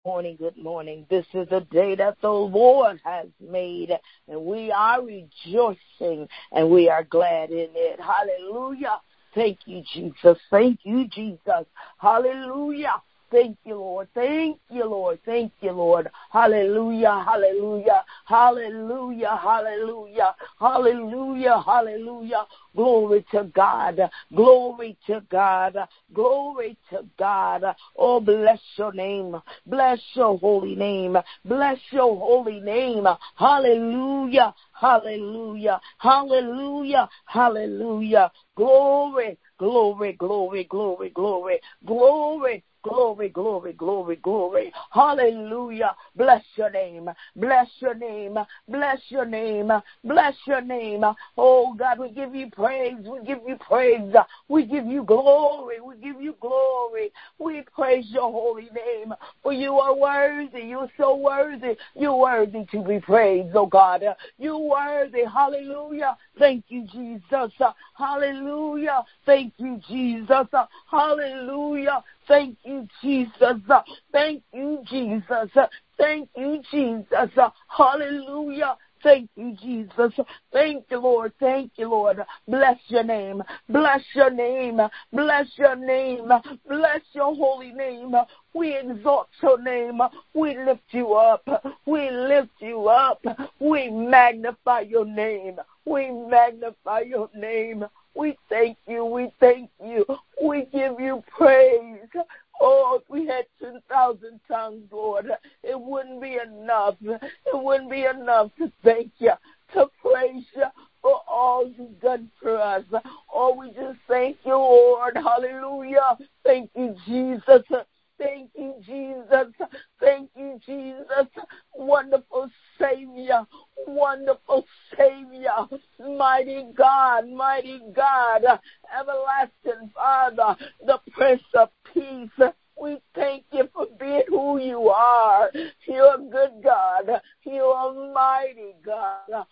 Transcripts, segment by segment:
Morning, good morning. This is a day that the Lord has made, and we are rejoicing, and we are glad in it. Hallelujah. Thank you, Jesus. Thank you, Jesus. Hallelujah. Thank you, Lord. Thank you, Lord. Thank you, Lord. Hallelujah. Hallelujah. Hallelujah. Hallelujah. Hallelujah. Hallelujah. Glory to God. Glory to God. Glory to God. Oh, bless your name. Bless your holy name. Bless your holy name. Hallelujah. Hallelujah. Hallelujah. Hallelujah. Glory. Glory, glory, glory, glory, glory. Glory, glory, glory, glory. Hallelujah. Bless your name. Bless your name. Bless your name. Bless your name. Oh, God, we give you praise. We give you praise. We give you glory. We give you glory. We praise your holy name. For you are worthy. You're so worthy. You're worthy to be praised, oh God. You're worthy. Hallelujah. Thank you, Jesus. Hallelujah. Thank you, Jesus. Hallelujah. Thank you, Jesus. Thank you, Jesus. Thank you, Jesus. Hallelujah. Thank you, Jesus. Thank you, Lord. Thank you, Lord. Bless your name. Bless your name. Bless your name. Bless your holy name. We exalt your name. We lift you up. We lift you up. We magnify your name. We magnify your name. We thank you. We thank you. We give you praise. Oh, if we had 10,000 tongues, Lord, it wouldn't be enough. It wouldn't be enough to thank you, to praise you for all you've done for us. Oh, we just thank you, Lord. Hallelujah. Thank you, Jesus. Thank you, Jesus. Thank you, Jesus. Wonderful Savior. Wonderful Savior. Mighty God. Mighty God. Everlasting Father. The Prince of Peace. We thank you for being who you are. You're a good God. You're a mighty God.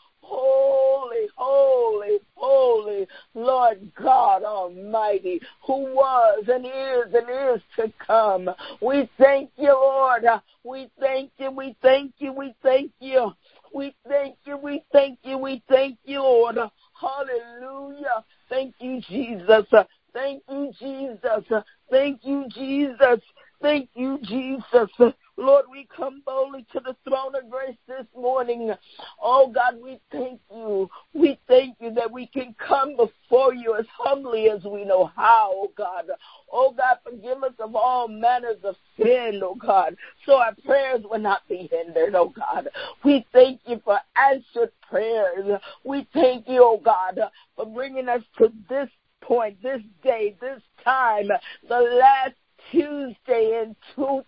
Holy, holy, holy, Lord God Almighty, who was and is to come. We thank you, Lord. We thank you, we thank you, we thank you. We thank you, we thank you, we thank you, Lord. Hallelujah. Thank you, Jesus. Thank you, Jesus. Thank you, Jesus. Thank you, Jesus. Lord, we come boldly to the throne of grace this morning. Oh, God, we thank you. We thank you that we can come before you as humbly as we know how, oh, God. Oh, God, forgive us of all manners of sin, oh, God, so our prayers will not be hindered, oh, God. We thank you for answered prayers. We thank you, oh, God, for bringing us to this point, this day, this time, the last Tuesday in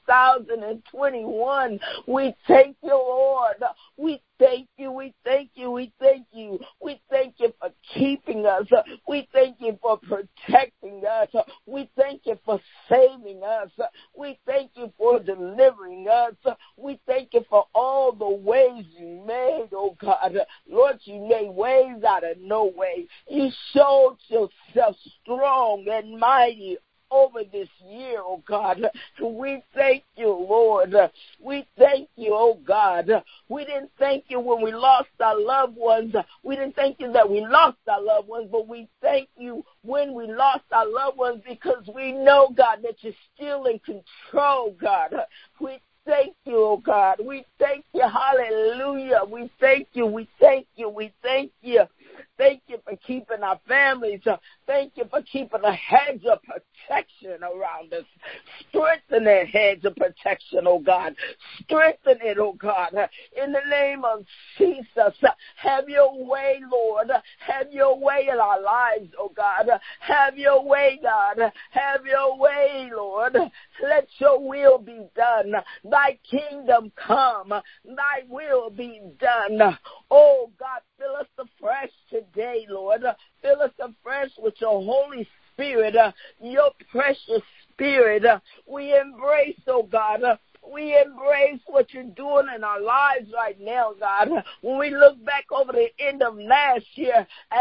2021. We thank you, Lord. We thank you, we thank you, we thank you. We thank you for keeping us. We thank you for protecting us. We thank you for saving us. We thank you for delivering us. We thank you for all the ways you made, oh God. Lord, you made ways out of no way. You showed yourself strong and mighty over this year, oh God. We thank you, Lord. We thank you, oh God. We didn't thank you when we lost our loved ones. We didn't thank you that we lost our loved ones, but we thank you when we lost our loved ones because we know, God, that you're still in control, God. We thank you, oh God. We thank you. Hallelujah. We thank you. We thank you. We thank you. Thank you for keeping our families. Thank you for keeping a hedge of protection around us. Strengthen that hedge of protection, oh God. Strengthen it, oh God. In the name of Jesus, have your way, Lord. Have your way in our lives, oh God. Have your way, God. Have your way, Lord. Let your will be done. Thy kingdom come. Thy will be done. Oh God, fill us afresh today, Lord. Fill us afresh with your Holy Spirit, your precious Spirit. We embrace, oh God. We embrace what you're doing in our lives right now, God. When we look back over the end of last year and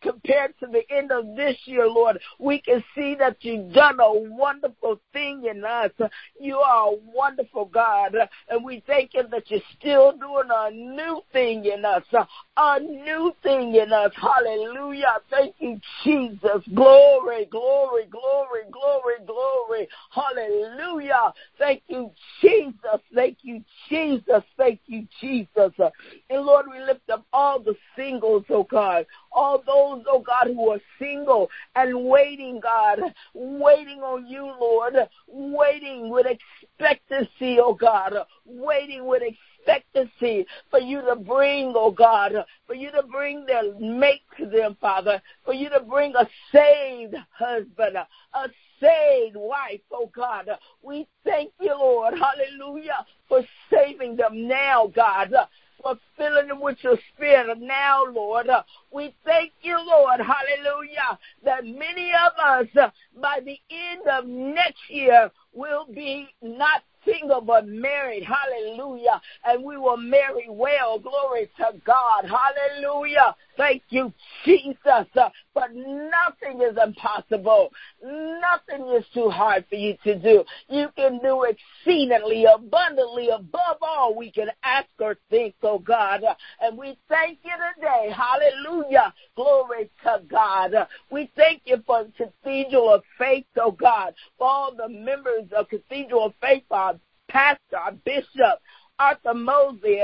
compared to the end of this year, Lord, we can see that you've done a wonderful thing in us. You are a wonderful God, and we thank you that you're still doing a new thing in us, a new thing in us. Hallelujah. Thank you, Jesus. Glory, glory, glory, glory, glory. Hallelujah. Thank you, Jesus. Thank you, Jesus. Thank you, Jesus. And Lord, we lift up all the singles, oh God, all those, oh God, who are single and waiting, God, waiting on you, Lord, waiting with expectancy, oh God, waiting with expectancy for you to bring, oh God, for you to bring their mate to them, Father, for you to bring a saved husband, a saved wife, oh God. We thank you, Lord, hallelujah, for saving them now, God, for filling them with your spirit now, Lord. We thank you, Lord, hallelujah, that many of us by the end of next year will be not single but married, hallelujah, and we will marry well, glory to God, hallelujah. Thank you, Jesus, but nothing is impossible. Nothing is too hard for you to do. You can do exceedingly, abundantly, above all we can ask or think, oh God, and we thank you today, hallelujah, glory to God. We thank you for Cathedral of Faith, oh God, for all the members of Cathedral of Faith, our pastor, our bishop, Arthur Mosley,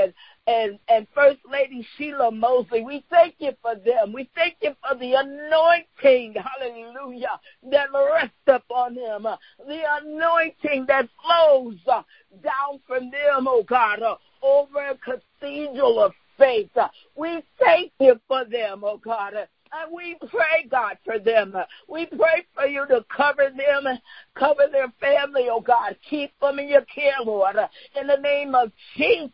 and First Lady Sheila Mosley. We thank you for them. We thank you for the anointing, hallelujah, that rests upon them, the anointing that flows down from them, oh God, over Cathedral of Faith. We thank you for them, oh God. And we pray, God, for them. We pray for you to cover them, cover their family, oh God. Keep them in your care, Lord. In the name of Jesus,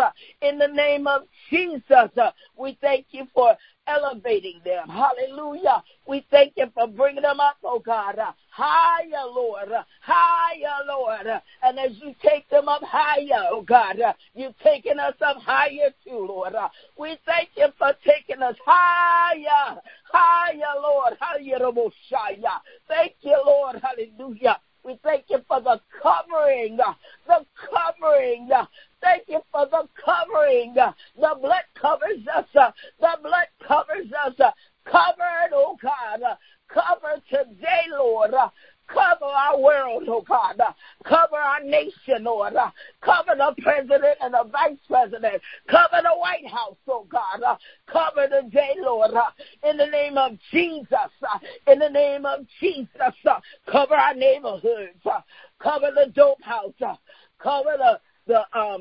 in the name of Jesus, we thank you for elevating them. Hallelujah. We thank you for bringing them up, oh God. Higher, Lord. Higher, Lord. And as you take them up higher, oh God, you've taken us up higher too, Lord. We thank you for taking us higher. Higher, Lord. Hallelujah. Thank you, Lord. Hallelujah. We thank you for the covering, the covering. Thank you for the covering. The blood covers us. The blood covers us. Covered, oh God. Cover today, Lord. Cover our world, oh God. Cover our nation, Lord. Cover the president and the vice president. Cover the White House, oh God. Cover today, Lord. In the name of Jesus. In the name of Jesus. Cover our neighborhoods. Cover the dope house. Cover the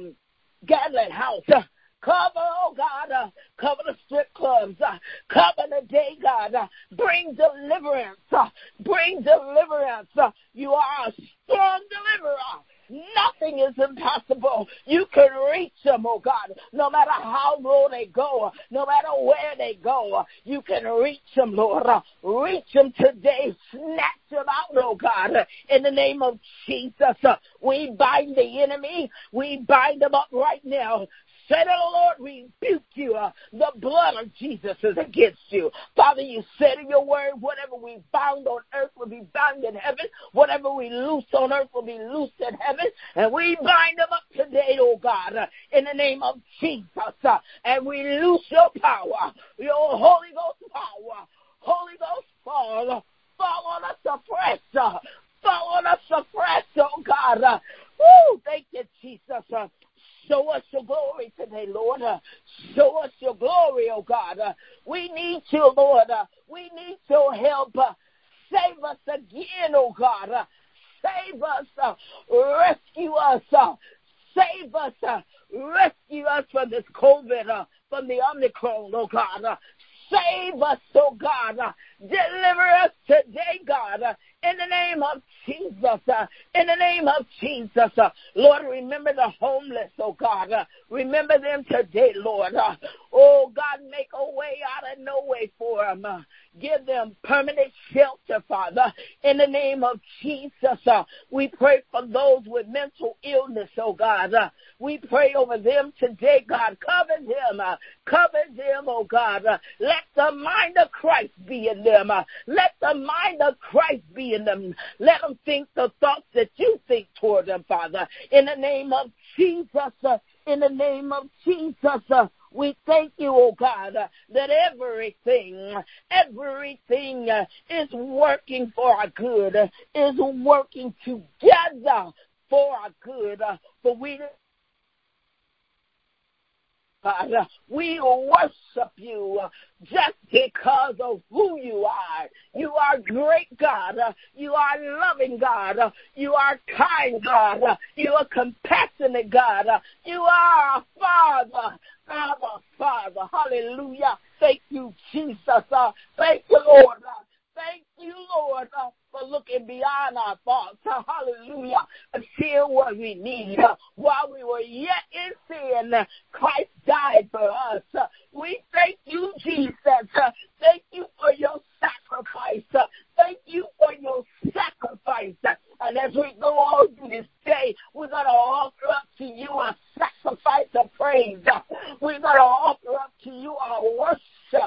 Gatlin house. Cover, oh God, cover the strip clubs, cover the day, God, bring deliverance, bring deliverance. You are a strong deliverer. Nothing is impossible. You can reach them, oh God, no matter how low they go, no matter where they go, you can reach them, Lord. Reach them today, snatch them out, oh God, in the name of Jesus. We bind the enemy, we bind them up right now. Say to the Lord, rebuke you. The blood of Jesus is against you. Father, you said in your word, whatever we bound on earth will be bound in heaven. Whatever we loose on earth will be loosed in heaven. And we bind them up today, oh God, in the name of Jesus. And we loose your power, your Holy Ghost power. Holy Ghost fall on us afresh. Fall on us afresh, oh God. Woo, thank you, Jesus. Show us your glory today, Lord. Show us your glory, oh God. We need you, Lord. We need your help. Save us again, oh God. Save us. Rescue us. Save us. Rescue us from this COVID, from the Omicron, oh God. Save us, oh God. Deliver us today, God. in the name of Jesus. In the name of Jesus. Lord, remember the homeless, oh God. Remember them today, Lord. Oh God, make a way out of no way for them. Give them permanent shelter, Father. In the name of Jesus, we pray for those with mental illness, oh God. We pray over them today, God. Cover them, oh God. Let the mind of Christ be in them. Let the mind of Christ be in them. Let them think the thoughts that you think toward them, Father. In the name of Jesus, in the name of Jesus, we thank you, oh God, that everything is working for our good, is working together for our good. For we worship you just because of who you are. You are great God. You are loving God. You are kind God. You are compassionate God. You are a Father. Father. Hallelujah. Thank you, Jesus. Thank you, Lord. Thank you, Lord, for looking beyond our faults. Hallelujah. And seeing what we need. While we were yet in sin, Christ died for us. We thank you, Jesus. Thank you for your sacrifice. Thank you for your sacrifice. And as we go on through this day, we're going to offer up to you a sacrifice of praise. We're going to offer up to you our worship.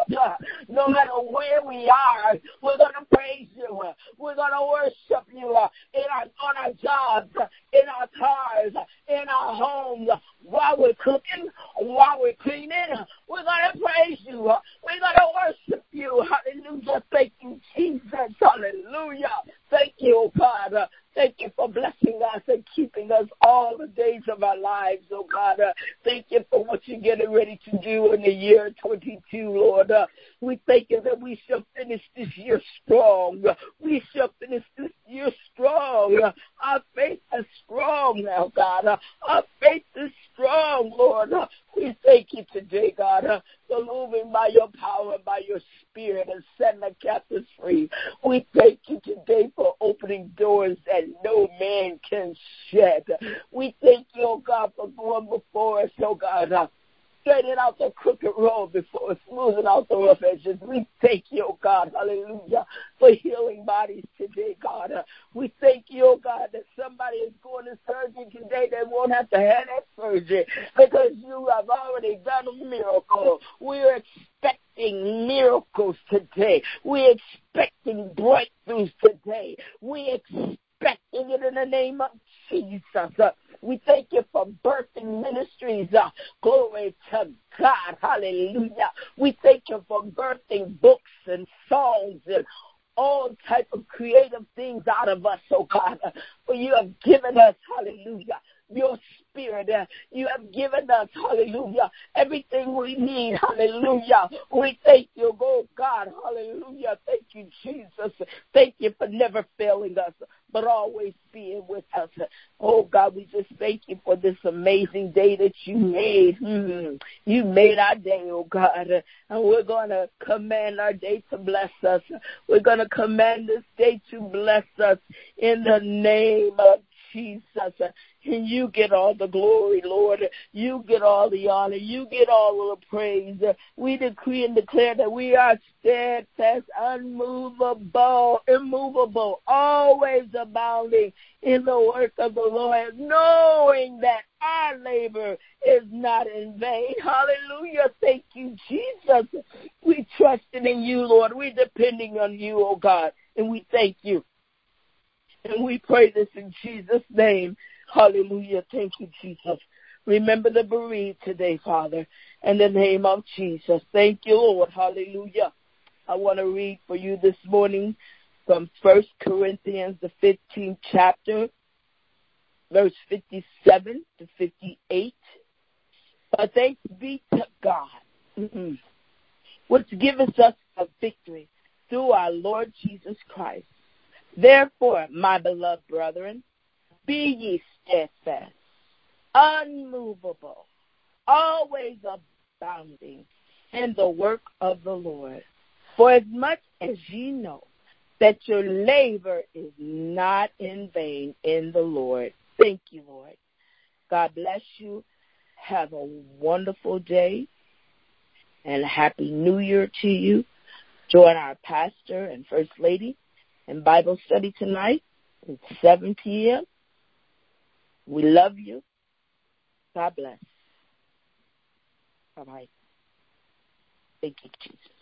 No matter where we are, we're going to praise you. We're going to worship you on our jobs, in our cars, in our homes, while we're cooking, while we're cleaning. We're going to praise you. We're going to worship you. Hallelujah. Thank you, Jesus. Hallelujah. Thank you, God. Thank you for blessing us and keeping us all the days of our lives, oh God. Thank you for what you're getting ready to do in the year 22, Lord. We thank you that we shall finish this year strong. We shall finish this year strong. Our faith is strong now, God. Our faith is strong, Lord. We thank you today, God, for moving by your power, by your spirit, and setting the captives free. We thank you today for opening doors that no man can shut. We thank you, oh God, for going before us, oh God. Straightening out the crooked road before us, smoothing out the rough edges. We thank you, oh God, hallelujah, for healing bodies today, God. We thank you, oh God, that somebody is going to surgery today that won't have to have that surgery because you have already done a miracle. We're expecting miracles today. We're expecting breakthroughs today. We're expecting it in the name of Jesus. We thank you for birthing ministries. Glory to God. Hallelujah. We thank you for birthing books and songs and all type of creative things out of us, oh God. For you have given us, hallelujah, your spirit. You have given us, hallelujah, everything we need, hallelujah. We thank you, oh God, hallelujah. Thank you, Jesus. Thank you for never failing us, but always being with us. Oh God, we just thank you for this amazing day that you made. You made our day, oh God, and we're going to command our day to bless us. We're going to command this day to bless us in the name of Jesus. And you get all the glory, Lord. You get all the honor. You get all of the praise. We decree and declare that we are steadfast, unmovable, immovable, always abounding in the work of the Lord, knowing that our labor is not in vain. Hallelujah. Thank you, Jesus. We trusting in you, Lord. We're depending on you, oh God, and we thank you. And we pray this in Jesus' name. Hallelujah. Thank you, Jesus. Remember the bereaved today, Father, in the name of Jesus. Thank you, Lord. Hallelujah. I want to read for you this morning from 1 Corinthians, the 15th chapter, verse 57 to 58. But thanks be to God, which giveth us a victory through our Lord Jesus Christ. Therefore, my beloved brethren, be ye steadfast, unmovable, always abounding in the work of the Lord. For as much as ye know that your labor is not in vain in the Lord. Thank you, Lord. God bless you. Have a wonderful day and a happy New Year to you. Join our pastor and First Lady in Bible study tonight at 7 p.m. We love you. God bless. Bye-bye. Thank you, Jesus.